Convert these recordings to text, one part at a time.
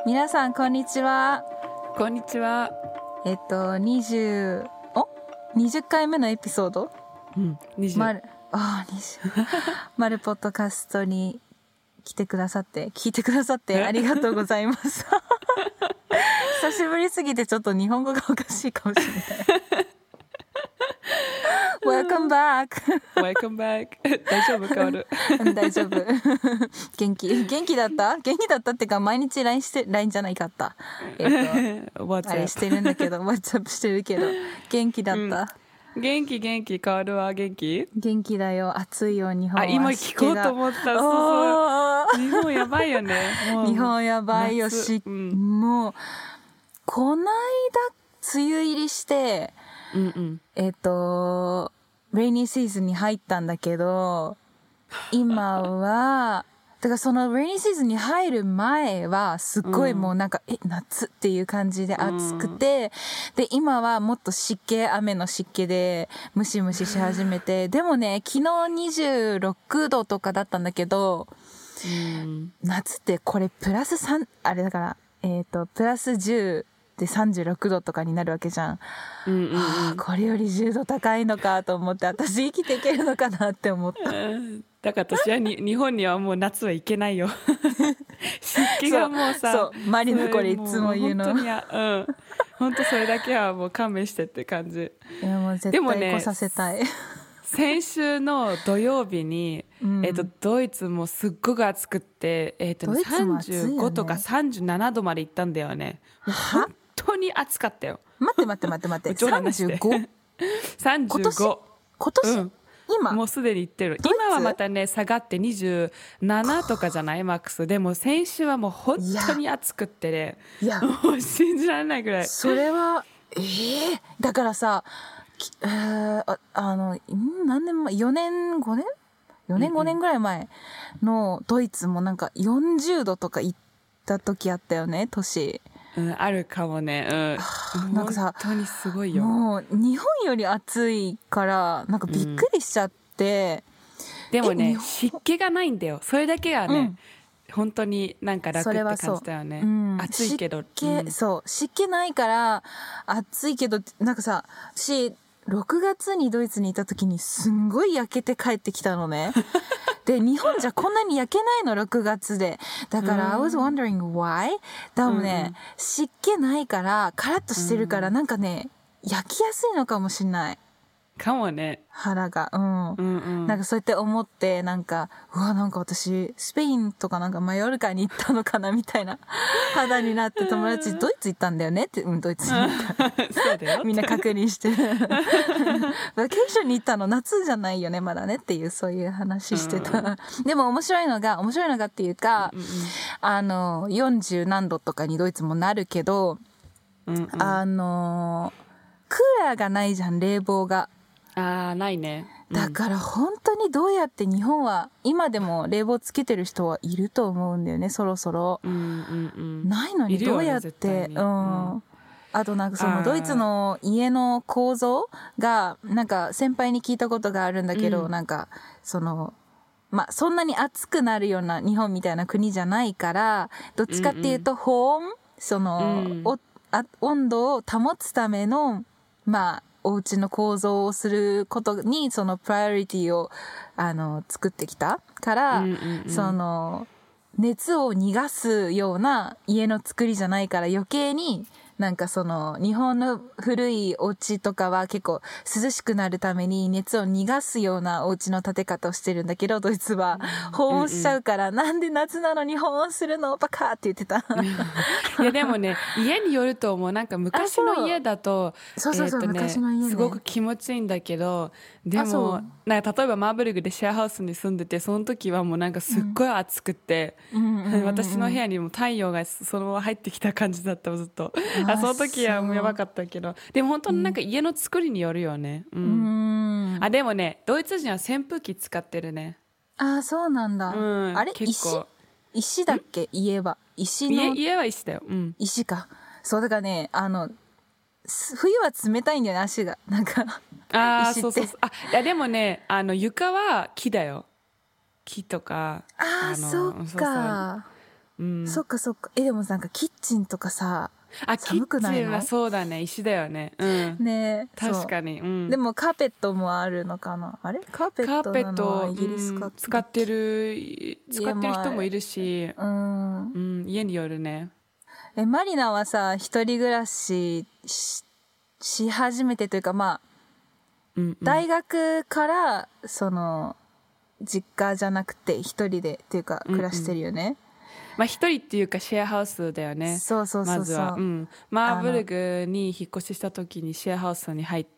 皆さんこんにちは。 こんにちは。 20回目のエピソード、 20 マルポッドキャストに聞いてくださってありがとうございます久しぶりすぎてちょっと日本語がおかしいかもしれない。Welcome back Welcome back 大丈夫かおる大丈夫元気だったってか毎日 LINE じゃないかった WhatsApp あれしてるんだけどWhatsApp してるけど元気だった、 元気かおるは元気だよ。暑いよ日本は。 今聞こうと思った。そう日本やばいよね。 日本やばいよし、もうこないだ梅雨入りして、レイニーシーズンに入ったんだけど、今はだからそのレイニーシーズンに入る前はすっごいもうなんか、夏っていう感じで暑くて、で今はもっと雨の湿気でムシムシし始めて、でもね昨日26度とかだったんだけど、夏ってこれプラス3あれだからプラス10で36度とかになるわけじゃん。これより10度高いのかと思って、私生きていけるのかなって思った。 だから私は日本にはもう夏は行けないよ湿気がもうさ、 そうマリナこれいつも言うの。 本当それだけはもう勘弁してって感じ。 いやもう絶対来させたい。 先週の土曜日に、ドイツもすっごく暑くって、35とか37度まで行ったんだよね。本当に暑かったよ。 待って35？ 35 今年、今もうすでに行ってる。今はまたね下がって27とかじゃないマックス。でも先週はもう本当に暑くってね、もう信じられないぐらい。 それはだからさ何年前4年5年ぐらい前のドイツもなんか40度とか行った時あったよね年。 あるかもね。なんかさ本当にすごいよ。 もう日本より暑いからなんかびっくりしちゃって、 でもね湿気がないんだよ。それだけがね、本当になんか楽って感じだよね。暑いけどそう湿気ないから暑いけど、なんかさ6月にドイツにいた時にすんごい焼けて帰ってきたのねで日本じゃこんなに焼けないの6月で。だから、I was wondering why? でもね、湿気ないからカラッとしてるから、なんかね焼きやすいのかもしれないかもね、 肌が。なんかそうやって思って、なんかなんか私スペインとかなんかマヨルカに行ったのかなみたいな肌になって、友達ドイツ行ったんだよねって、ドイツに行ったそうだよみんな確認してバケーションに行ったの夏じゃないよねまだねっていう、そういう話してた。でも面白いのがっていうか、40何度とかにドイツもなるけど、クーラーがないじゃん、冷房が。 ないね。 だから本当にどうやって日本は今でも冷房つけてる人はいると思うんだよね、そろそろ。ないのにどうやって、あとなんかそのドイツの家の構造がなんか先輩に聞いたことがあるんだけど、なんかそのそんなに暑くなるような日本みたいな国じゃないから、どっちかっていうと保温、その、温度を保つためのお家の構造をすることにそのプライオリティを作ってきたから、その熱を逃がすような家の作りじゃないから、余計になんかその日本の古いお家とかは結構涼しくなるために熱を逃がすようなお家の建て方をしてるんだけど、ドイツは保温しちゃうから、なんで夏なのに保温するのバカって言ってたいやでもね家によると思う。なんか昔の家だと昔の家ねすごく気持ちいいんだけど、でもなんか例えばマーブルグでシェアハウスに住んでて、その時はもうなんかすっごい暑くて、私の部屋にも太陽がそのまま入ってきた感じだった、ずっと。その時はもうやばかったけど、でも本当になんか家の作りによるよね。でもねドイツ人は扇風機使ってるね。 そうなんだ。あれ石だっけ、家は家は石だよ。 石か。そうだからね、冬は冷たいんだよね、足がなんか石って。 そういやでもね床は木だよ。木とかそうか。 そっかそっか。でもなんかキッチンとかさ、寒くないの？ キッチンはそうだね、石だよね。 ね、 確かに。 でもカーペットもあるのかな？あれカーペットなのはイギリスか、 使ってる人もいるし、家によるね。 マリナはさ、一人暮らしし始めてというか、まあ、大学からその実家じゃなくて一人でっていうか暮らしてるよね。 まあ一人っていうかシェアハウスだよね。 そうそうそうそう。 まずは、マーブルグに引っ越しした時にシェアハウスに入って、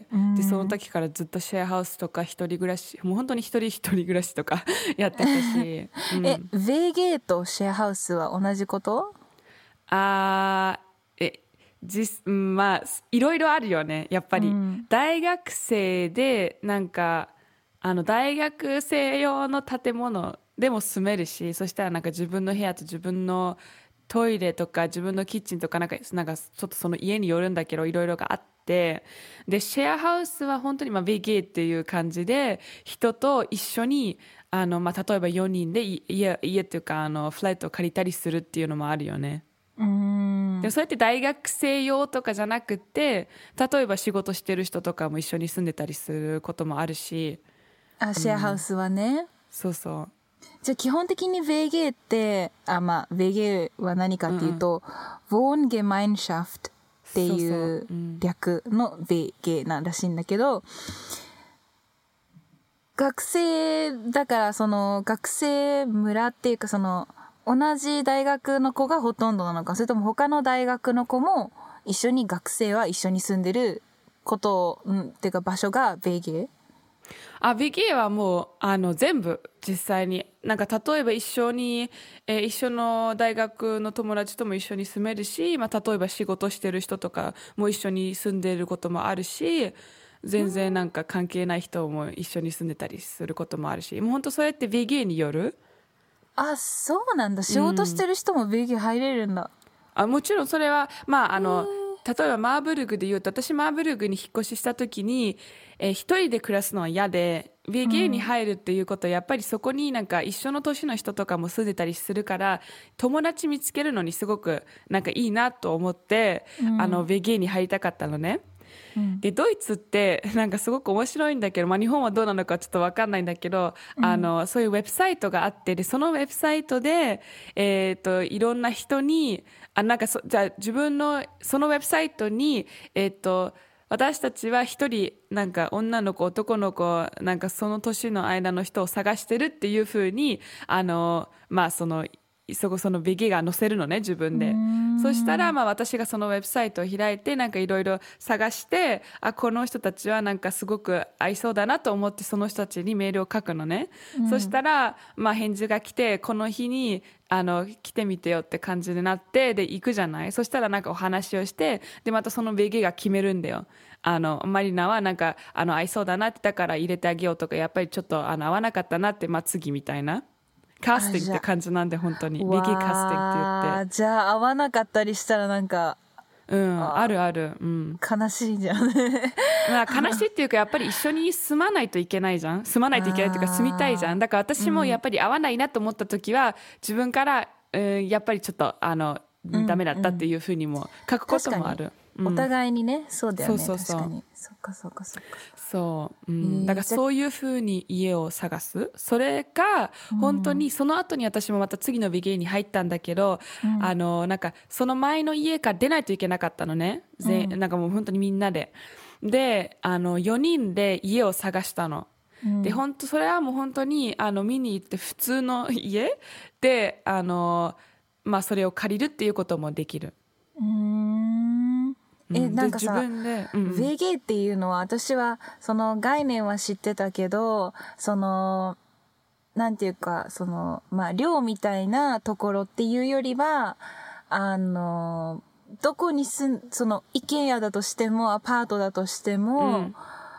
でその時からずっとシェアハウスとか一人暮らし、もう本当に一人暮らしとかやってたし。 ベーゲーとシェアハウスは同じこと？ まあいろいろあるよね、やっぱり。大学生でなんか大学生用の建物でも住めるし、そしたらなんか自分の部屋と自分のトイレとか自分のキッチンとかなんかちょっとその家によるんだけどいろいろがあって、でシェアハウスは本当にベゲーっていう感じで人と一緒に例えば4人で家っていうかフライトを借りたりするっていうのもあるよね。でもそうやって大学生用とかじゃなくて、例えば仕事してる人とかも一緒に住んでたりすることもあるし。 シェアハウスはね。 そうそう。 じゃあ基本的にベーゲーってベーゲーは何かっていうと、Wohngemeinschaft っていう略のベーゲーなんらしいんだけど、学生だからその学生村っていうかその同じ大学の子がほとんどなのか、それとも他の大学の子も一緒に学生は一緒に住んでることっていうか場所がベーゲー？ ベゲーはもう全部実際になんか例えば一緒の大学の友達とも一緒に住めるし、例えば仕事してる人とかも一緒に住んでることもあるし、全然なんか関係ない人も一緒に住んでたりすることもあるし、もう本当そうやってベゲーによる。 そうなんだ。仕事してる人もベゲー入れるんだ。 もちろんそれは例えばマーブルグで言うと、私マーブルグに引っ越しした時に、一人で暮らすのは嫌で、ベゲーに入るっていうことはやっぱりそこになんか一緒の年の人とかも住んでたりするから、友達見つけるのにすごくなんかいいなと思って、ベゲーに入りたかったのね。でドイツってなんかすごく面白いんだけど、日本はどうなのかちょっと分かんないんだけど、そういうウェブサイトがあって、でそのウェブサイトで、いろんな人にじゃあ自分のそのウェブサイトに、私たちは一人なんか女の子男の子なんかその年の間の人を探してるっていうふうにそのベゲが載せるのね、自分で。そしたら私がそのウェブサイトを開いてなんかいろいろ探して、この人たちはなんかすごく合いそうだなと思ってその人たちにメールを書くのね。そしたら返事が来て、この日に来てみてよって感じになって、で行くじゃない。そしたらなんかお話をして、でまたそのベゲが決めるんだよ。マリナはなんか合いそうだなって、だから入れてあげようとか、やっぱりちょっと合わなかったなって、次みたいなカースティングって感じなんで、本当にベゲカースティングって言って。 じゃあ合わなかったりしたらなんかあるある、 悲しいじゃん悲しいっていうか、やっぱり一緒に住まないといけないじゃん。住まないといけないっていうか、住みたいじゃん。だから私もやっぱり合わないなと思った時は、自分から、やっぱりちょっとダメだったっていうふうにも書くこともある。 お互いにね、そうだよね。 そう確かに。そっか。 そう、だからそういうふうに家を探す。それが本当にその後に私もまた次のベゲーに入ったんだけど、なんかその前の家から出ないといけなかったのね。なんかもう本当にみんなで。で、4人で家を探したの。で本当それはもう本当に見に行って普通の家でそれを借りるっていうこともできる。 なんかさ、ベゲーっていうのは私はその概念は知ってたけど、そのなんていうかその寮みたいなところっていうよりはどこにその一軒家だとしてもアパートだとしても、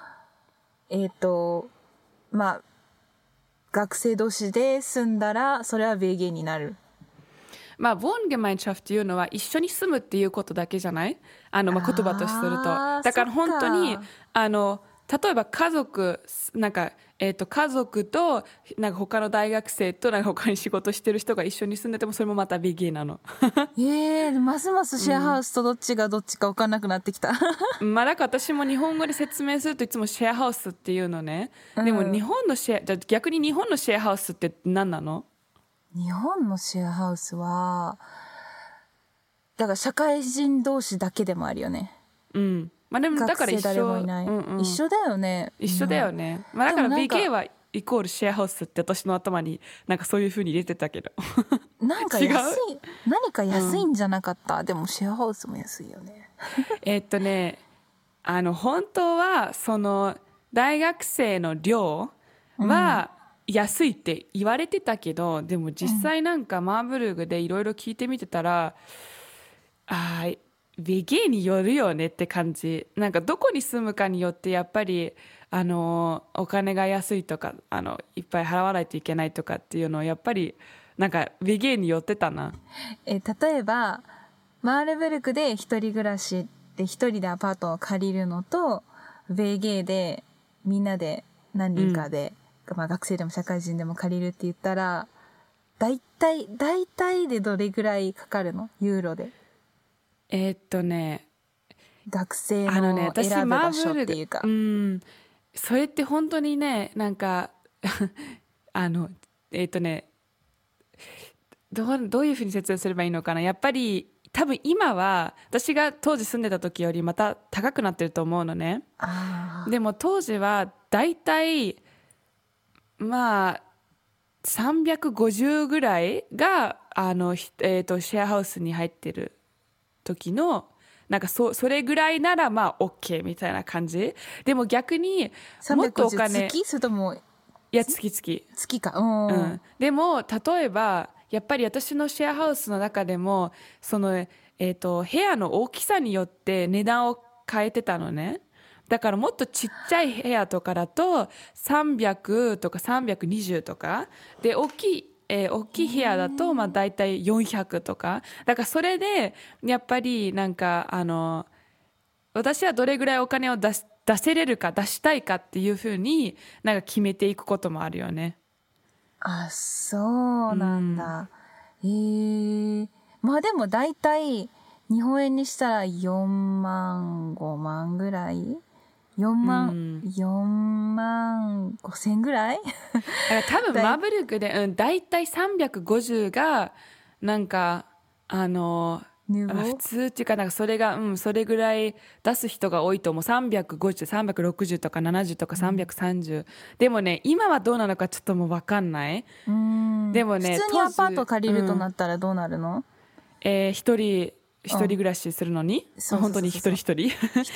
学生同士で住んだらそれはベゲーになる。 Wohngemeinschaft っていうのは一緒に住むっていうことだけじゃない？言葉とすると。だから本当に例えば家族なんか、家族となんか他の大学生となんか他に仕事してる人が一緒に住んでてもそれもまたビギーなの。 ますますシェアハウスとどっちがどっちか分かんなくなってきた。 まあだから私も日本語で説明するといつもシェアハウスっていうのね。でも日本のじゃあ逆に日本のシェアハウスって何なの？ 日本のシェアハウスはだから社会人同士だけでもあるよね。 まあでもだから一緒、 一緒だよね。 一緒だよね。まあだから BK はイコールシェアハウスって私の頭になんかそういう風に入れてたけど。 なんか安い、何か安いんじゃなかった。でもシェアハウスも安いよね。 本当はその大学生の寮は安いって言われてたけど、でも実際なんかマーブルグでいろいろ聞いてみてたら、ベゲーによるよねって感じ。なんかどこに住むかによってやっぱりお金が安いとかいっぱい払わないといけないとかっていうのをやっぱりなんかベゲーによってたな。 例えばマールブルクで一人暮らしで一人でアパートを借りるのとベゲーでみんなで何人かで、まあ、学生でも社会人でも借りるって言ったらだいたいでどれぐらいかかるの？ユーロで。学生の選ぶ場所っていうか、 それって本当にねなんかどういうふうに説明すればいいのかな。やっぱり多分今は私が当時住んでた時よりまた高くなってると思うのね。でも当時はだいたいまあ350ぐらいがシェアハウスに入ってる時のなんかそれぐらいならまあ OK みたいな感じ。でも逆にもっとお金月？それともいや月か、 でも例えばやっぱり私のシェアハウスの中でもその、部屋の大きさによって値段を変えてたのね。だからもっとちっちゃい部屋とかだと300とか320とかで大きい部屋だとまあ大体400とか。だからそれでやっぱりなんか私はどれぐらいお金を出せれるか出したいかっていうふうになんか決めていくこともあるよね。 そうなんだ。まあでも大体日本円にしたら4万5万ぐらい4万5千ぐらい多分マブルクで、大体350がなんか普通っていうかなんかそれが、それぐらい出す人が多いと思う。350、360とか70とか330、でもね今はどうなのかちょっともう分かんない。でもね普通にアパート借りるとなったらどうなるの？ 一人暮らしするのに、本当に一人一人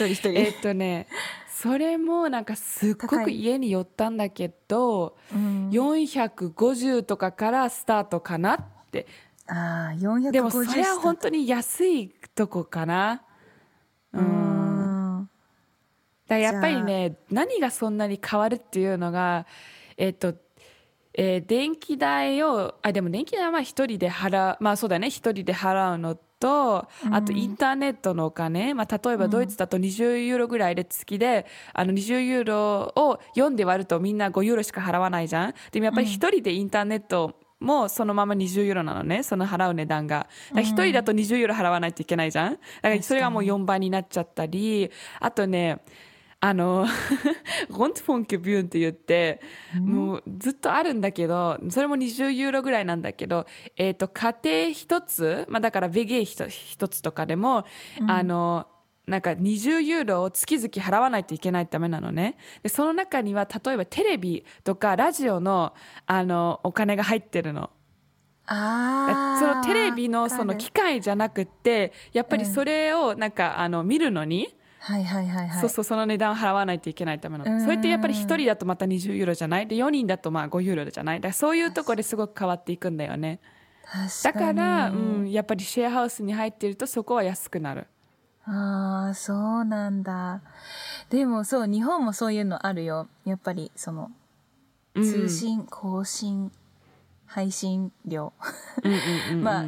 それもなんかすっごく家に寄ったんだけど、450とかからスタートかなって。 450。 でもそれは本当に安いとこかな。だからやっぱりね何がそんなに変わるっていうのが電気代をでも電気代はまあ一人で払う、まあそうだね、一人で払うのと、あとインターネットのお金、まあ、例えばドイツだと20ユーロぐらいで月で20ユーロを4で割るとみんな5ユーロしか払わないじゃん。でもやっぱり一人でインターネットもそのまま20ユーロなのね、その払う値段が。一人だと20ユーロ払わないといけないじゃん。だからそれがもう4倍になっちゃったり、あとねロントフォンケビューンって言って、もうずっとあるんだけど、それも20ユーロぐらいなんだけど、家庭一つ、まあだからベゲー一つとかでも、なんか20ユーロを月々払わないといけないためなのね。で、その中には例えばテレビとかラジオの、お金が入ってるの。そのテレビのその機械じゃなくって、やっぱりそれをなんか見るのに、その値段を払わないといけないための。それってやっぱり1人だとまた20ユーロじゃないで、4人だとまあ5ユーロじゃない。だからそういうところですごく変わっていくんだよね。だから、やっぱりシェアハウスに入っているとそこは安くなる。 そうなんだ。でもそう、日本もそういうのあるよ。やっぱりその通信、更新、配信料まあ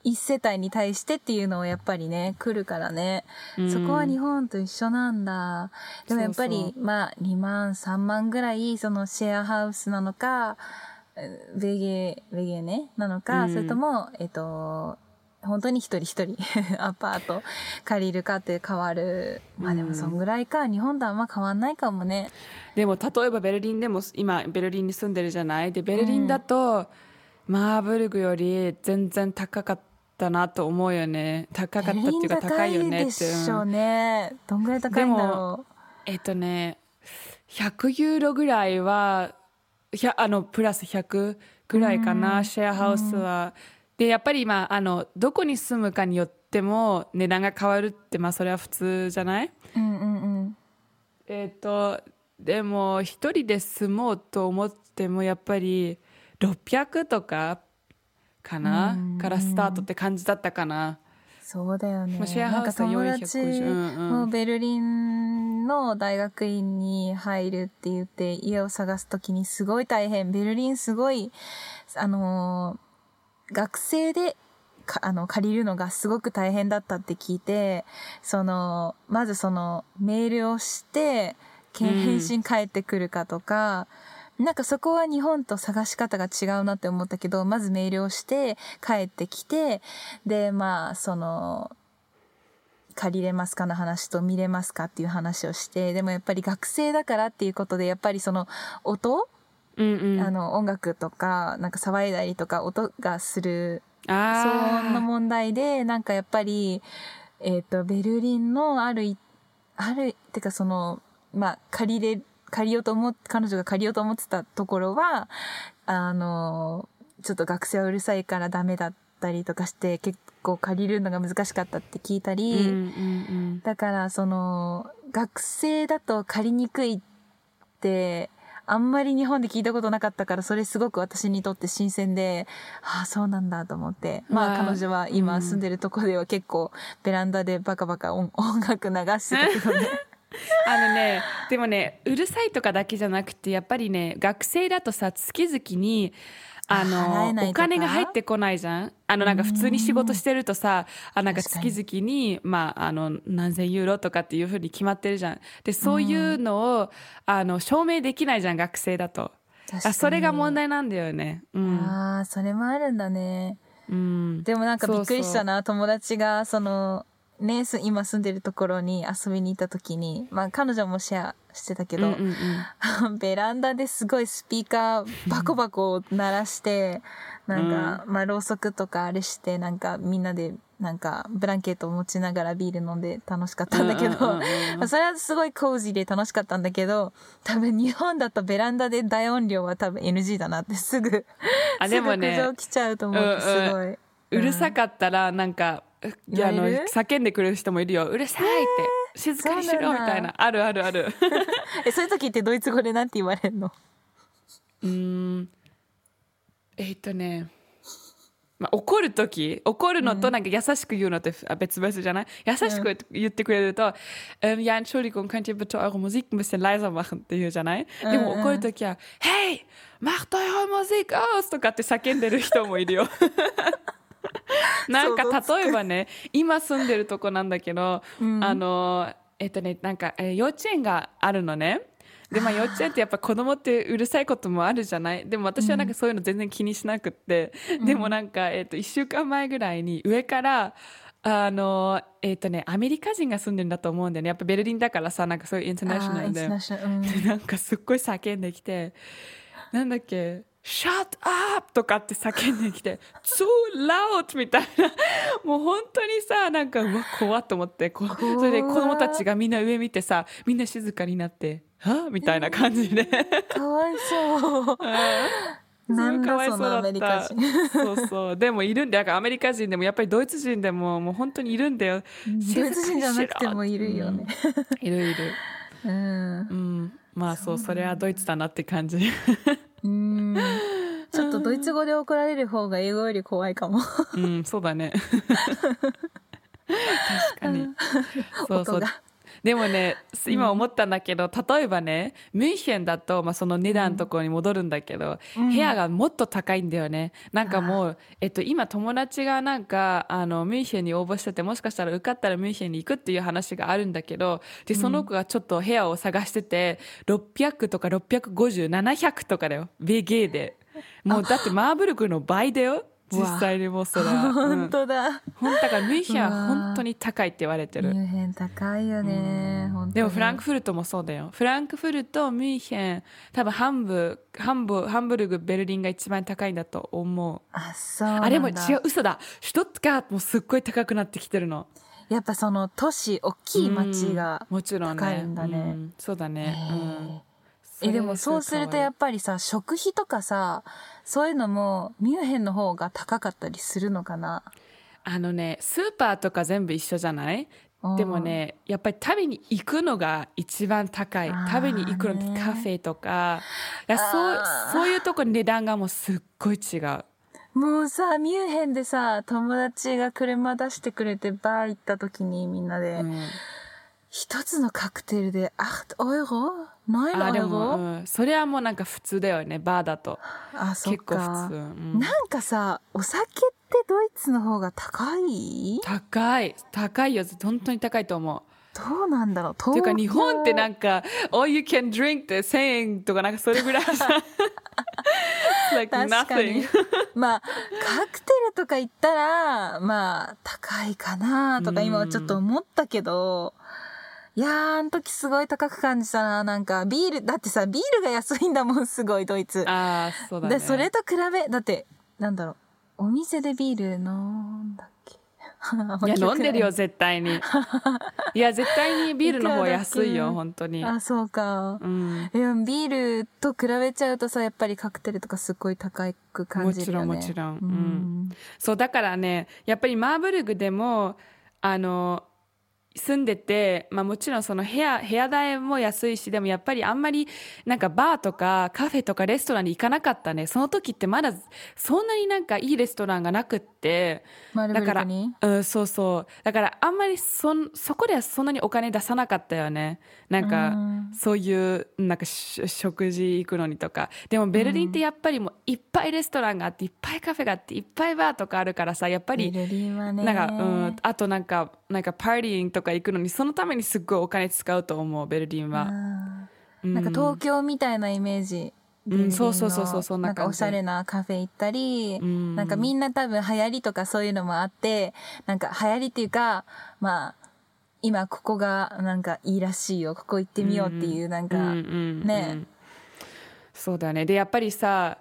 一世帯に対してっていうのをやっぱりね来るからね、そこは日本と一緒なんだ。でもやっぱりまあ2万3万ぐらいそのシェアハウスなのかベゲねなのか、それとも本当に一人一人アパート借りるかって変わる。まあでもそんぐらいか。日本とあんま変わんないかもね。 でも例えばベルリンでも今ベルリンに住んでるじゃない。でベルリンだと、マーブルグより全然高かったなと思うよね。高かったっていうか高いよねって。 でしょうね。どんぐらい高いんだろう。 100ユーロぐらいはプラス100ぐらいかな、シェアハウスは。でやっぱり今どこに住むかによっても値段が変わるって、まあそれは普通じゃない。でも一人で住もうと思ってもやっぱり600とかかな、からスタートって感じだったかな。 そうだよね。 シェアハウスは友達もベルリンの大学院に入るって言って家を探すときにすごい大変。ベルリンすごい学生で借りるのがすごく大変だったって聞いて、まずメールをして返信返ってくるかとか、なんかそこは日本と探し方が違うなって思ったけど、まずメールをして帰ってきて、でまあ借りれますかの話と見れますかっていう話をして、でもやっぱり学生だからっていうことでやっぱり音、音楽とかなんか騒いだりとか音がする騒音の問題で、なんかやっぱりベルリンのてかまあ彼女が借りようと思ってたところはちょっと学生はうるさいからダメだったりとかして結構借りるのが難しかったって聞いたり、だから学生だと借りにくいってあんまり日本で聞いたことなかったから、それすごく私にとって新鮮で、ああそうなんだと思って、まあ彼女は今住んでるとこでは結構ベランダでバカバカ音楽流してたけどねでもね、うるさいとかだけじゃなくてやっぱりね、学生だとさ月々にお金が入ってこないじゃん。なんか普通に仕事してるとさ、なんか月々にまあ何千ユーロとかっていう風に決まってるじゃん。でそういうのを証明できないじゃん、学生だと。それが問題なんだよね。 ああ、それもあるんだね。でもなんかびっくりしたな。友達がね、今住んでるところに遊びに行った時に、まあ彼女もシェアしてたけど、ベランダですごいスピーカーバコバコ鳴らして、なんか、まあろうそくとかあれして、なんかみんなでなんかブランケットを持ちながらビール飲んで楽しかったんだけど、それはすごいコージーで楽しかったんだけど、多分日本だとベランダで大音量は多分 NG だなってすぐ苦情来ちゃうと思ってすごい。 うるさかったらなんか叫んでくる人もいるよ。うるさいって静かにしろみたいな。あるそういう時ってドイツ語でなんて言われるの？ まあ、怒るのとなんか優しく言うのって別々じゃない？優しく言ってくれると、ja, Entschuldigung, könnt ihr bitte eure Musik ein bisschen leiser machen って言うじゃない？でも怒るときは、Hey, macht eure Musik aus とかって叫んでる人もいるよ。なんか例えばね、今住んでるとこなんだけど、なんか、幼稚園があるのね。でまあ幼稚園ってやっぱ子供ってうるさいこともあるじゃない。でも私はなんかそういうの全然気にしなくって、でもなんか1週間前ぐらいに上からアメリカ人が住んでるんだと思うんだよね。やっぱベルリンだからさ、なんかそういうインターナショナルで、でなんかすっごい叫んできて、なんだっけ。Shut up! とかって叫んできて Too loud! みたいな、もう本当にさ、なんかうわ怖っと思って、それで子供たちがみんな上見てさ、みんな静かになってはみたいな感じで、 かわいそうなんだそのアメリカ人そうでもいるんだよ。アメリカ人でもやっぱりドイツ人でももう本当にいるんだよ。 ドイツ人じゃなくてもいるよね、 いるまあそう、それはドイツだなって感じ。 ちょっとドイツ語で怒られる方が英語より怖いかも。 そうだね。確かに。そうでもね、今思ったんだけど、例えばね、ミュンヘンだと、その値段のところに戻るんだけど、部屋がもっと高いんだよね。なんかもう、今友達がなんか、ミュンヘンに応募してて、もしかしたら受かったらミュンヘンに行くっていう話があるんだけど、で、その子がちょっと部屋を探してて、600とか650、700とかだよ。BG で。もうだってマーブルクの倍だよ。実際にもうそれは。 本当だ。 だからミュンヘンは本当に高いって言われてる。 ミュンヘン高いよね。本当に。 でもフランクフルトもそうだよ。フランクフルト、ミュンヘン、多分ハンブルグ、ベルリンが一番高いんだと思う。 あ、そうなんだ。 あれも違う、嘘だ。シュトットガートもすっごい高くなってきてるの。 やっぱその都市、大きい町が高いんだね。 そうだね。 でもそうするとやっぱりさ、食費とかさ、そういうのもミュンヘンの方が高かったりするのかな？ スーパーとか全部一緒じゃない？でもね、やっぱり食べに行くのが一番高い。食べに行くのってカフェとか、そういうとこ値段がもうすっごい違う。 もうさ、ミュンヘンでさ、友達が車出してくれてバー行った時にみんなで、一つのカクテルで8ユーロ ?9 ユーロ、 それはもうなんか普通だよね、バーだと。 そっか。 結構普通。 なんかさ、お酒ってドイツの方が高いよ。本当に高いと思う。 どうなんだろう。 っていうか日本ってなんか all you can drink って1000円とかなんかそれぐらいさlike 確かに nothing カクテルとか言ったら高いかなとか今はちょっと思ったけど、いやー、あの時すごい高く感じたな。なんかビールだってさ、ビールが安いんだもん、すごいドイツ。 そうだね。 でそれと比べだってなんだろう、お店でビール飲んだっけいや飲んでるよ絶対に。いや絶対にビールの方安いよ本当に。 そうか。いやビールと比べちゃうとさ、やっぱりカクテルとかすっごい高く感じるよね。 もちろん。そうだからね、やっぱりマーブルグでも住んでて、もちろんその部屋代も安いし、でもやっぱりあんまりなんかバーとかカフェとかレストランに行かなかったね。その時ってまだそんなになんかいいレストランがなくって、 だからそうだからあんまりそこではそんなにお金出さなかったよね。なんかそういうなんか食事行くのにとか。でもベルリンってやっぱりもういっぱいレストランがあって、いっぱいカフェがあって、いっぱいバーとかあるからさ、やっぱりベルリンはね、 なんかあとなんかパーティーとか行くのにそのためにすっごいお金使うと思う、ベルリンは。 なんか東京みたいなイメージ。 そうそんな感じ。 なんかおしゃれなカフェ行ったり、なんかみんな多分流行りとかそういうのもあって、なんか流行りっていうか、今ここがなんかいいらしいよ、ここ行ってみようっていうなんかね。 そうだね。でやっぱりさ、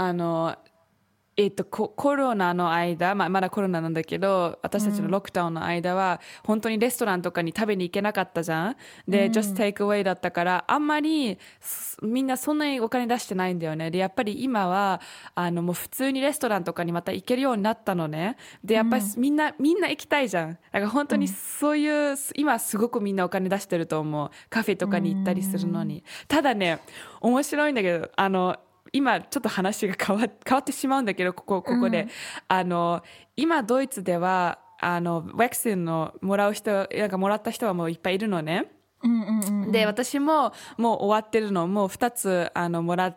コロナの間、まだコロナなんだけど、私たちのロックダウンの間は、本当にレストランとかに食べに行けなかったじゃん。で、just take away だったから、あんまり、みんなそんなにお金出してないんだよね。で、やっぱり今は、もう普通にレストランとかにまた行けるようになったのね。で、やっぱりみんな行きたいじゃん。だから本当にそういう、今すごくみんなお金出してると思う。カフェとかに行ったりするのに。ただね、面白いんだけど、今ちょっと話が変わってしまうんだけど、ここで、今ドイツではウェクセンのもらった人はもういっぱいいるのね。で私ももう終わってるの、もう2つもらって、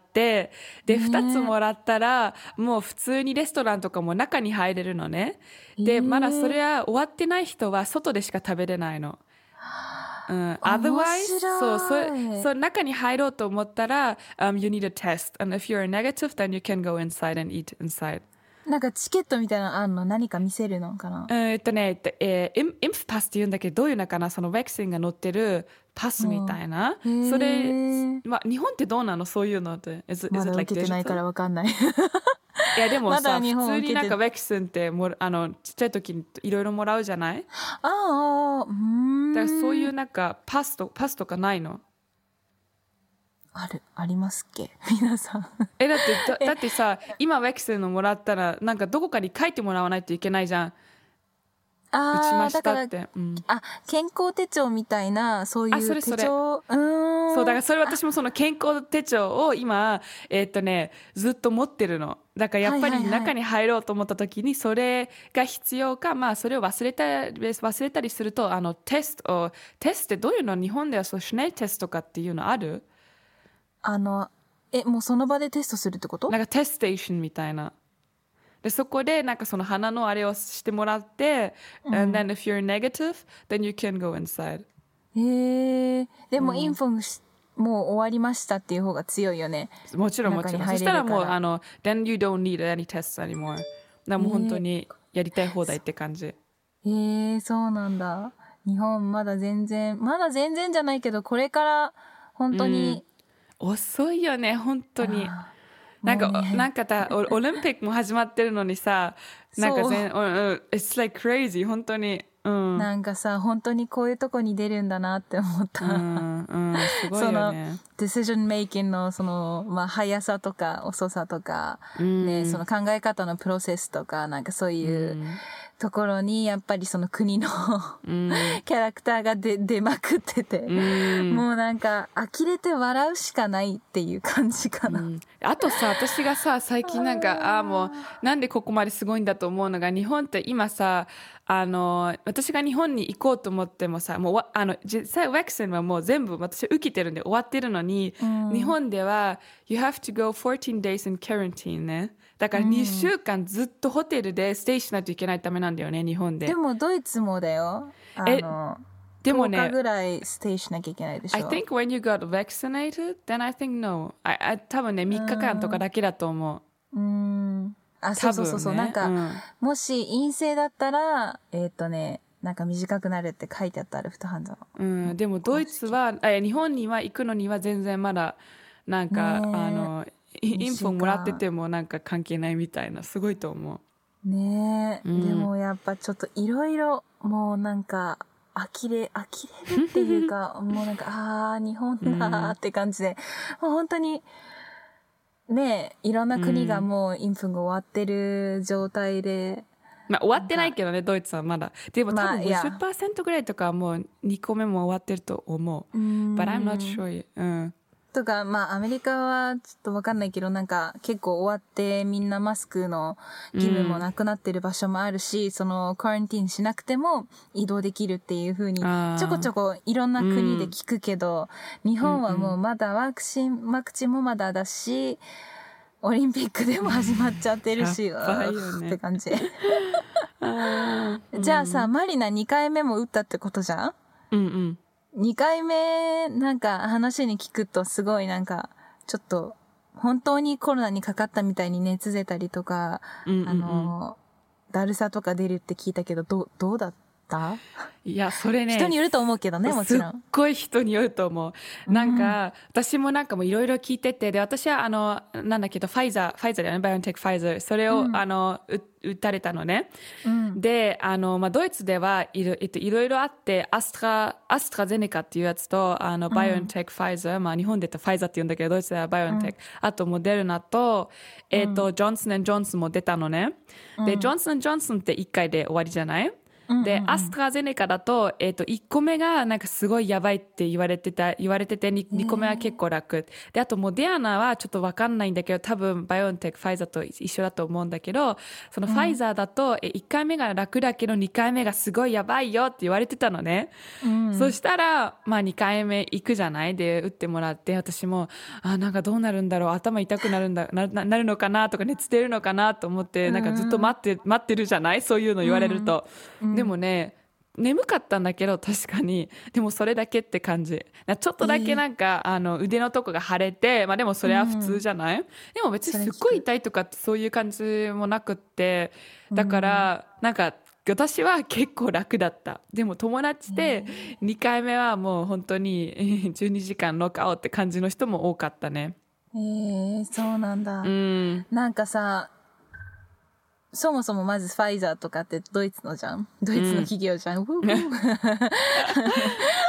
で2つもらったらもう普通にレストランとかも中に入れるのね。でまだそれは終わってない人は外でしか食べれないの。otherwise そう中に入ろうと思ったら、you need a test and if you're negative then you can go inside and eat inside。 なんかチケットみたいなのあるの？何か見せるのかな？ インフパスって言うんだけど、どういうのかな、そのワクチンが載ってるパスみたいな、それ、日本ってどうなのそういうのって。 まだ受けてないから分かんない。 いやでもさ、普通になんかワクチンってちっちゃい時にいろいろもらうじゃない？だからそういうなんかパスとかないの？ ありますっけ皆さん。 だってさ、今ワクチンのもらったらなんかどこかに書いてもらわないといけないじゃん。 打ちましたって。 健康手帳みたいな、そういう手帳。 そう、だからそれ私もその健康手帳を今、ずっと持ってるの。だからやっぱり中に入ろうと思った時にそれが必要か、まあそれを忘れたりすると、テストってどういうの？日本ではそう、シュネルテストとかっていうのある？ もうその場でテストするってこと？ なんかテストステーションみたいな。でそこでなんかその鼻のあれをしてもらって、and then if you're negative, then you can go inside. でもインフォもう終わりましたっていう方が強いよね。 もちろんもちろん。そしたらもうthen you don't need any tests anymore. だからもう本当にやりたい放題って感じ。 そうなんだ。日本まだ全然じゃないけど、これから本当に、 遅いよね本当に。なんかオリンピックも始まってるのにさ、なんかit's like crazy 本当に。 なんかさ、本当にこういうとこに出るんだなって思った。 すごいよね。 その decision making のその、速さとか遅さとか、ね、その考え方のプロセスとか、なんかそういうところにやっぱりその国のキャラクターが出まくってて、もうなんか呆れて笑うしかないっていう感じかな。 あとさ、私がさ、最近なんか、もうなんでここまですごいんだと思うのが、日本って今さ、私が日本に行こうと思ってもさ、もう実際ワクチンはもう全部私受けてるんで終わってるのに、日本では You have to go 14 days in quarantine ね。だから2週間ずっとホテルでステイしないといけないためなんだよね、日本で。 でもドイツもだよ。でもね、10日ぐらいステイしなきゃいけないでしょ。 I think when you got vaccinated, then I think no. 多分ね、3日間とかだけだと思う。 そう、ね、なんか、もし陰性だったら、なんか短くなるって書いてあったアルフトハンドの。でもドイツは、日本には行くのには全然まだ、なんか、インフォもらっててもなんか関係ないみたいな、すごいと思う。ねえ、でもやっぱちょっといろいろ、もうなんか、呆れるっていうか、もうなんか、日本だって感じで、もう本当に、ねえ、いろんな国がもうインフンが終わってる状態で。 まあ終わってないけどね、ドイツはまだ。でも多分 50% ぐらいとかはもう2個目も終わってると思う。But I'm not sure. とか、アメリカはちょっとわかんないけど、なんか結構終わってみんなマスクの義務もなくなってる場所もあるし、そのクアランティーンしなくても移動できるっていう風にちょこちょこいろんな国で聞くけど、日本はもうまだワクチンもまだだし、オリンピックでも始まっちゃってるし、って感じ。じゃあさ、マリナ2回目も打ったってことじゃん？2回目なんか話に聞くとすごいなんかちょっと本当にコロナにかかったみたいに熱出たりとか、だるさとか出るって聞いたけどどうだった？ いやそれね人によると思うけどね、もちろん。 すっごい人によると思う。なんか、私もなんかもいろいろ聞いてて、で私はなんだけどファイザーだよね、バイオンテックファイザー、それを、打たれたのね。でドイツではいろいろあって、アストラゼネカっていうやつとバイオンテックファイザー、日本で言ったらファイザーって言うんだけどドイツではバイオンテック、あとモデルナとジョンソン&ジョンソンも出たのね。でジョンソン&ジョンソンって1回で終わりじゃない？で、アストラゼネカだと、1個目がなんかすごいやばいって言われてて、2個目は結構楽。で、あとモデアナはちょっとわかんないんだけど、多分バイオンテック、ファイザーと一緒だと思うんだけど、そのファイザーだと、1回目が楽だけど、2回目がすごいやばいよって言われてたのね。そしたら、2回目行くじゃないで、打ってもらって、私も、なんかどうなるんだろう、頭痛くなるのかなとか、熱出るのかなと思って、なんかずっと待ってるじゃない？そういうの言われると。でもね、眠かったんだけど確かに、でもそれだけって感じ。ちょっとだけなんか、腕のとこが腫れて、でもそれは普通じゃない？でも別にすっごい痛いとかってそういう感じもなくって、だからなんか私は結構楽だった。でも友達で2回目はもう本当に12時間ノックアウトって感じの人も多かったね。 そうなんだ。なんかさ、そもそもまずファイザーとかってドイツのじゃん、ドイツの企業じゃん、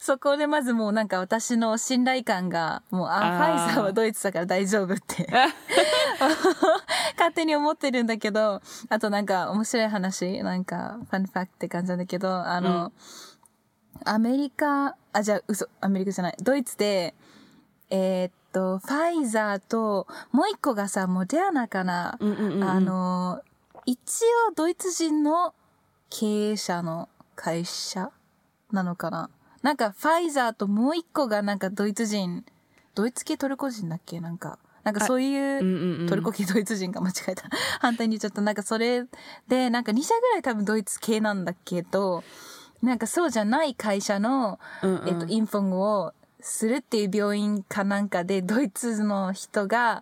そこでまずもうなんか私の信頼感がもうファイザーはドイツだから大丈夫って勝手に思ってるんだけど、あとなんか面白い話、なんかファンファクトって感じなんだけど、アメリカじゃない、ドイツでファイザーともう一個がさモデアナかな、一応ドイツ人の経営者の会社なのかな。なんかファイザーともう一個がなんかドイツ系トルコ人だっけ、なんかそういう、トルコ系ドイツ人が間違えた反対に言っちゃった。なんかそれでなんか2社ぐらい多分ドイツ系なんだけど、なんかそうじゃない会社の、インフォンをするっていう病院かなんかでドイツの人が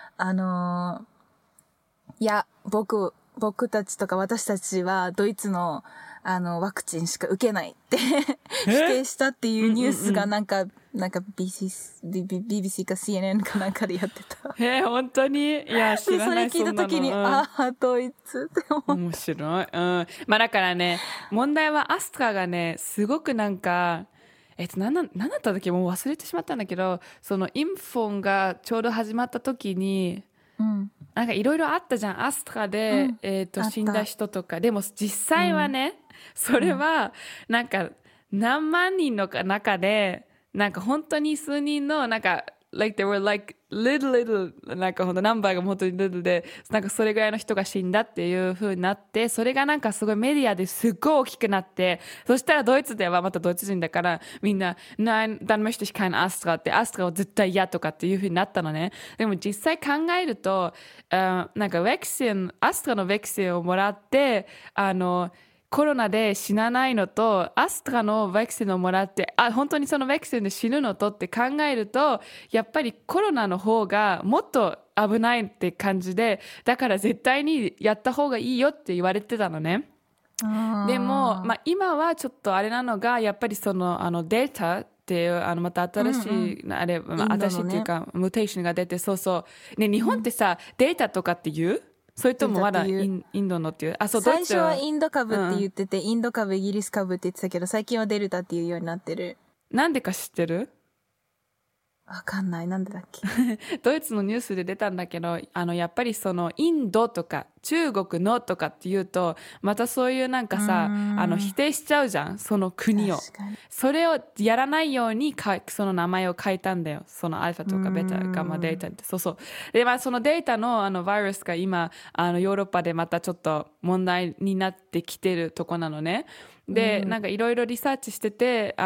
いや僕たちとか私たちはドイツのワクチンしか受けないって否定したっていうニュースがなんか BBC か CNN かなんかでやってた。 本当に？いや知らない。 それ聞いた時にドイツって思った。 面白い。まあだからね、問題はアストラがねすごくなんか何だったんだっけ、もう忘れてしまったんだけど、そのインフォンがちょうど始まった時に、なんかいろいろあったじゃん、アストラで、死んだ人とか。でも実際はね、それはなんか何万人の中でなんか本当に数人のなんかlike they were like little なんかほんとナンバーが本当に little で、なんかそれぐらいの人が死んだっていう風になって、それがなんかすごいメディアですっごい大きくなって、そしたらドイツではまたドイツ人だからみんな Nein, dann möchte ich kein Astra ってアストラを絶対嫌とかっていう風になったのね。でも実際考えると、なんかアストラのワクチンをもらってコロナで死なないのとアストラのワクチンをもらって本当にそのワクチンで死ぬのとって考えると、やっぱりコロナの方がもっと危ないって感じで、だから絶対にやった方がいいよって言われてたのね。でも、今はちょっとあれなのが、やっぱりそのデルタっていうまた新しい、新しいっていうかムーテーションが出て、そうそうね、日本ってさ、データとかって言う？それともまだインドのっていう？そう、 最初はインド株って言ってて、インド株イギリス株って言ってたけど、最近はデルタっていうようになってる。 なんでか知ってる？ わかんない。なんでだっけドイツのニュースで出たんだけど、やっぱりそのインドとか中国のとかっていうと、またそういうなんかさ、否定しちゃうじゃん、その国を。それをやらないようにその名前を変えたんだよ。そのアルファとかベタ、ガンマデータって。そうそう。で、そのデータのバイラスが今ヨーロッパでまたちょっと問題になってきてるとこなのね。で、なんかいろいろリサーチしてて、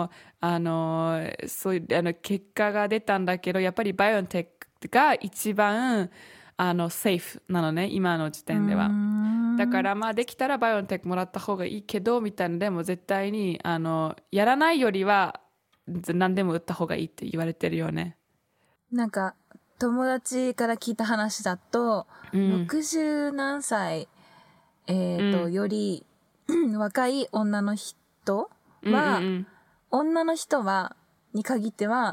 そういう結果が出たんだけど、やっぱりバイオンテックが一番セーフなのね、今の時点では。だからできたらバイオンテックもらった方がいいけどみたいな。でも絶対にやらないよりは何でも打った方がいいって言われてるよね。 なんか友達から聞いた話だと、60何歳より若い女の人は、女の人はに限っては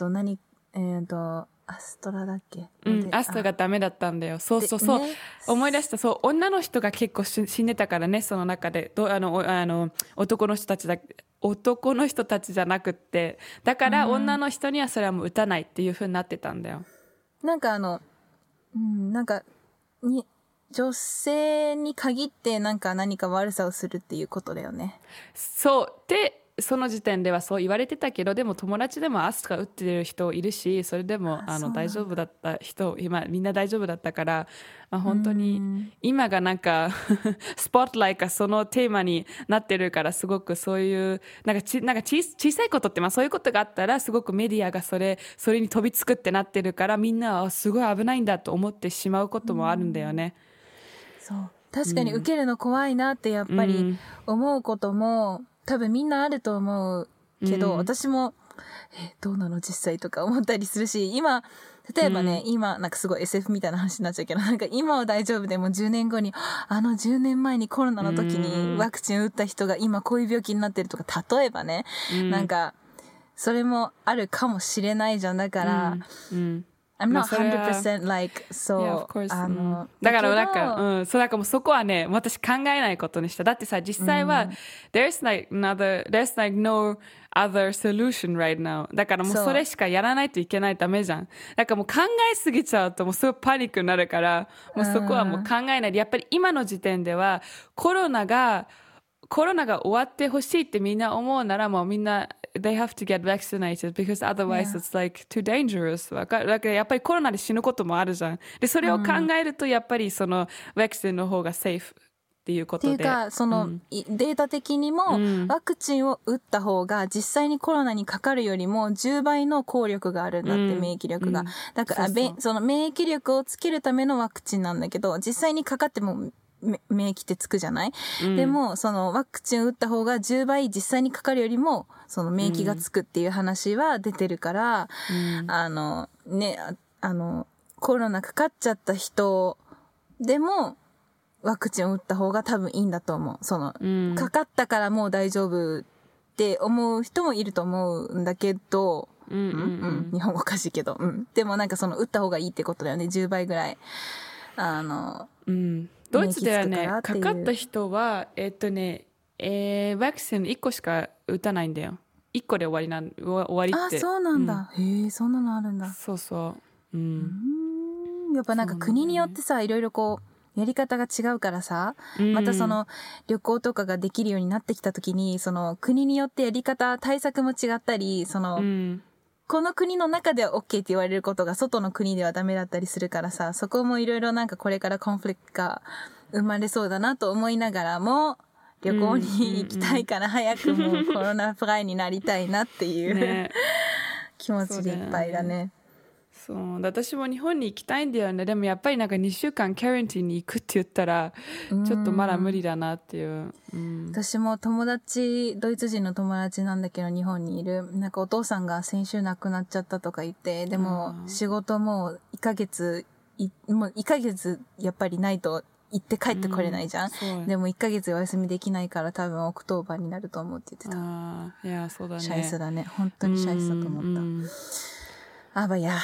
アストラだっけ、 アストラがダメだったんだよ。そうそうそう、ね、思い出した。そう、女の人が結構死んでたからね、その中で男の人たちじゃなくって、だから女の人にはそれはもう打たないっていう風になってたんだよ。 なんかなんか女性に限って何か悪さをするっていうことだよね。 そうで、その時点ではそう言われてたけど、でも友達でもアストラ打ってる人いるし、それでも大丈夫だった人、今みんな大丈夫だったから、本当に今がなんかスポットライトがそのテーマになってるから、すごくそういうなんか小さいことってそういうことがあったらすごくメディアがそれに飛びつくってなってるから、みんなはすごい危ないんだと思ってしまうこともあるんだよね。 そう確かに受けるの怖いなってやっぱり思うことも多分みんなあると思うけど、私もどうなの実際とか思ったりするし、今例えばね、今なんかすごい SF みたいな話になっちゃうけど、なんか今は大丈夫でも10年後に10年前にコロナの時にワクチン打った人が今こういう病気になってるとか、例えばね、なんかそれもあるかもしれないじゃん。だから、 I'm not 100% like, そう。だからなんか、そう、なんかもうそこはね、私考えないことにした。だってさ、実際は、there's like no other solution right now. だからもうそれしかやらないといけないためじゃん。だからもう考えすぎちゃうともうすごいパニックになるから、もうそこはもう考えないで、やっぱり今の時点では、コロナが終わってほしいってみんな思うならもうみんなthey have to get vaccinated because otherwise it's like too dangerous だからやっぱりコロナで死ぬこともあるじゃんでそれを考えるとやっぱりそのワクチンの方がセーフっていうことでっていうかその、データ的にも、ワクチンを打った方が実際にコロナにかかるよりも10倍の効力があるんだって、免疫力が、だからその免疫力をつけるためのワクチンなんだけど実際にかかっても免疫ってつくじゃない、でもそのワクチンを打った方が10倍実際にかかるよりもその免疫がつくっていう話は出てるから、コロナかかっちゃった人でもワクチンを打った方が多分いいんだと思う。その、かかったからもう大丈夫って思う人もいると思うんだけど、日本語おかしいけど、でもなんかその打った方がいいってことだよね。10倍ぐらい。 ドイツではね、かかった人は、ワクチン1個しか打たないんだよ。1個で終わりって。 あ、そうなんだ。へえ、そんなのあるんだ。 そうそう。 やっぱなんか国によってさ、いろいろこう、やり方が違うからさ、またその旅行とかができるようになってきた時に、その国によってやり方、対策も違ったり、その、この国の中では OK って言われることが外の国ではダメだったりするからさ、そこもいろいろなんかこれからコンフリクトが生まれそうだなと思いながらも、旅行に行きたいから早くもうコロナフライになりたいなっていう、ね、気持ちでいっぱいだね。 そう私も日本に行きたいんだよね。でもやっぱりなんか2週間キャレンティに行くって言ったらちょっとまだ無理だなっていう、 私もドイツ人の友達なんだけど日本にいるなんかお父さんが先週亡くなっちゃったとか言って、でも仕事も1ヶ月やっぱりないと行って帰ってこれないじゃん、でも1ヶ月お休みできないから多分オクトーバーになると思うって言ってた。 いやそうだね、 シャイスだね、本当にシャイスだと思った。Aber ja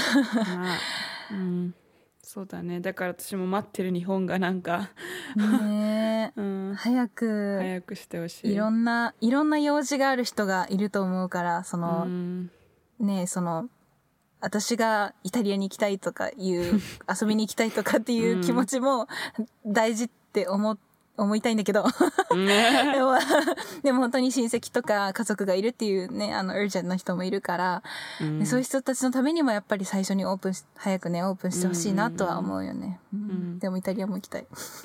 そうだね。だから私も待ってる日本がなんかね早くしてほしい。 いろんな用事がある人がいると思うから、そのねその私がイタリアに行きたいとかいう遊びに行きたいとかっていう気持ちも大事って思いたいんだけどでも本当に親戚とか家族がいるっていうね、ウージェントの人もいるから、そういう人たちのためにもやっぱり最初に早くねオープンしてほしいなとは思うよね、でもイタリアも行きたい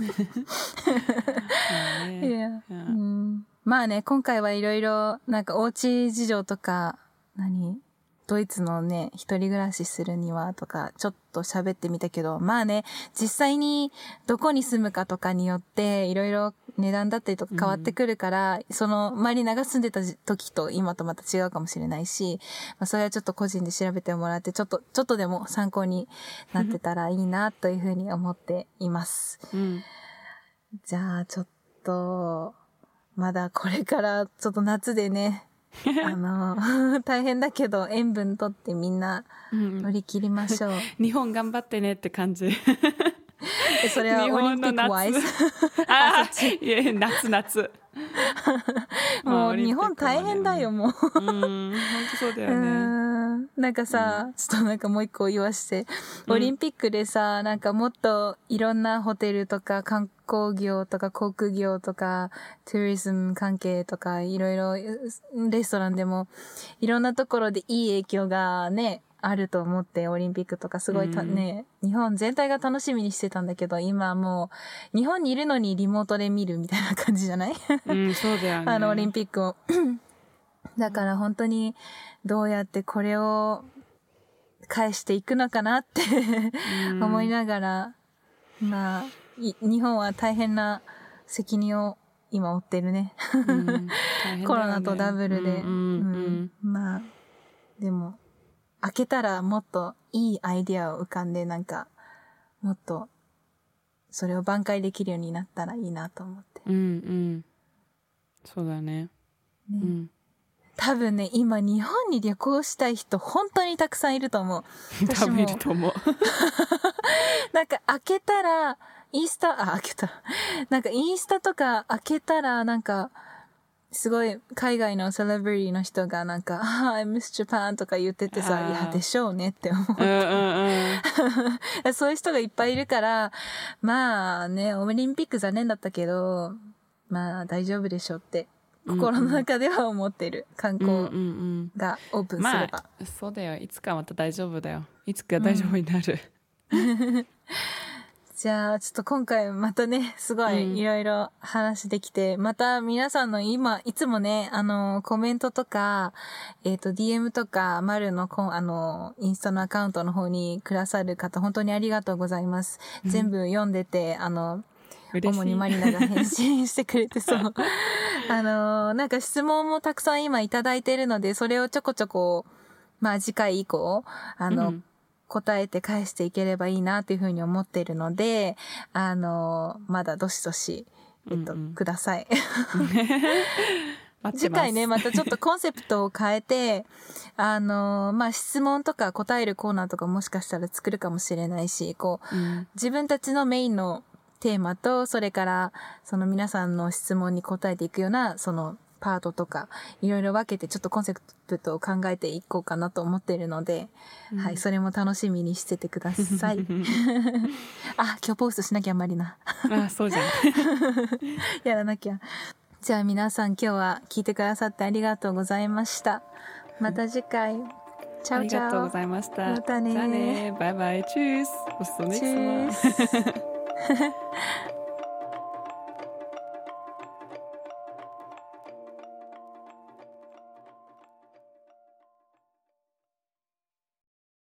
まあね、今回はいろいろなんかおうち事情とかドイツのね、一人暮らしするにはとか、ちょっと喋ってみたけど、まあね、実際にどこに住むかとかによって、いろいろ値段だったりとか変わってくるから、その、マリナが住んでた時と今とまた違うかもしれないし、まあそれはちょっと個人で調べてもらって、ちょっとでも参考になってたらいいな、というふうに思っています。じゃあ、ちょっと、まだこれからちょっと夏でね、大変だけど塩分とってみんな乗り切りましょう、 日本頑張ってねって感じそれはオリンピックワイズ夏もう日本大変だよ、もう本当そうだよね。 なんかさ、ちょっとなんかもう一個言わして、オリンピックでさ、なんかもっといろんなホテルとか観光業とか航空業とかトゥリズム関係とかいろいろレストランでもいろんなところでいい影響がねあると思って、オリンピックとかすごいね、日本全体が楽しみにしてたんだけど、今もう日本にいるのにリモートで見るみたいな感じじゃないそうだよね。 オリンピックをだから本当にどうやってこれを返していくのかなって思いながら、まあ日本は大変な責任を今負ってるねコロナとダブルで、まあでも開けたらもっといいアイディアを浮かんで、なんかもっとそれを挽回できるようになったらいいなと思って。 そうだね。 多分ね、今日本に旅行したい人本当にたくさんいると思う。 多分いると思う。 なんか開けたら、開けた。なんかインスタとか開けたら、なんか、すごい海外のセレブリティの人がなんか、I miss Japan とか言っててさ、いや、でしょうねって思う。そういう人がいっぱいいるから、まあね、オリンピック残念だったけど、まあ大丈夫でしょうって、心の中では思ってる。観光がオープンすれば。 まあ、そうだよ。いつかまた大丈夫だよ。いつか大丈夫になる。 じゃあ、ちょっと今回またね、すごいいろいろ話できて、また皆さんの今、いつもね、コメントとか、DM とか、丸のインスタのアカウントの方にくださる方、本当にありがとうございます。全部読んでて、主にマリナが返信してくれてそう。なんか質問もたくさん今いただいてるので、それをちょこちょこ、まあ次回以降、答えて返していければいいなっていうふうに思っているので、まだどしどし、ください。次回ね、またちょっとコンセプトを変えて、まあ、質問とか答えるコーナーとかもしかしたら作るかもしれないし、自分たちのメインのテーマと、それから、その皆さんの質問に答えていくような、その、パートとかいろいろ分けてちょっとコンセプトを考えていこうかなと思っているので、はい、それも楽しみにしててください。あ、今日ポストしなきゃマリナ。 あ、そうじゃん。 やらなきゃ。じゃあ皆さん今日は聞いてくださってありがとうございました。また次回。チャオチャオ。 ありがとうございました。 またね。 じゃあね。バイバイ。チュース。Bis zum nächsten Mal.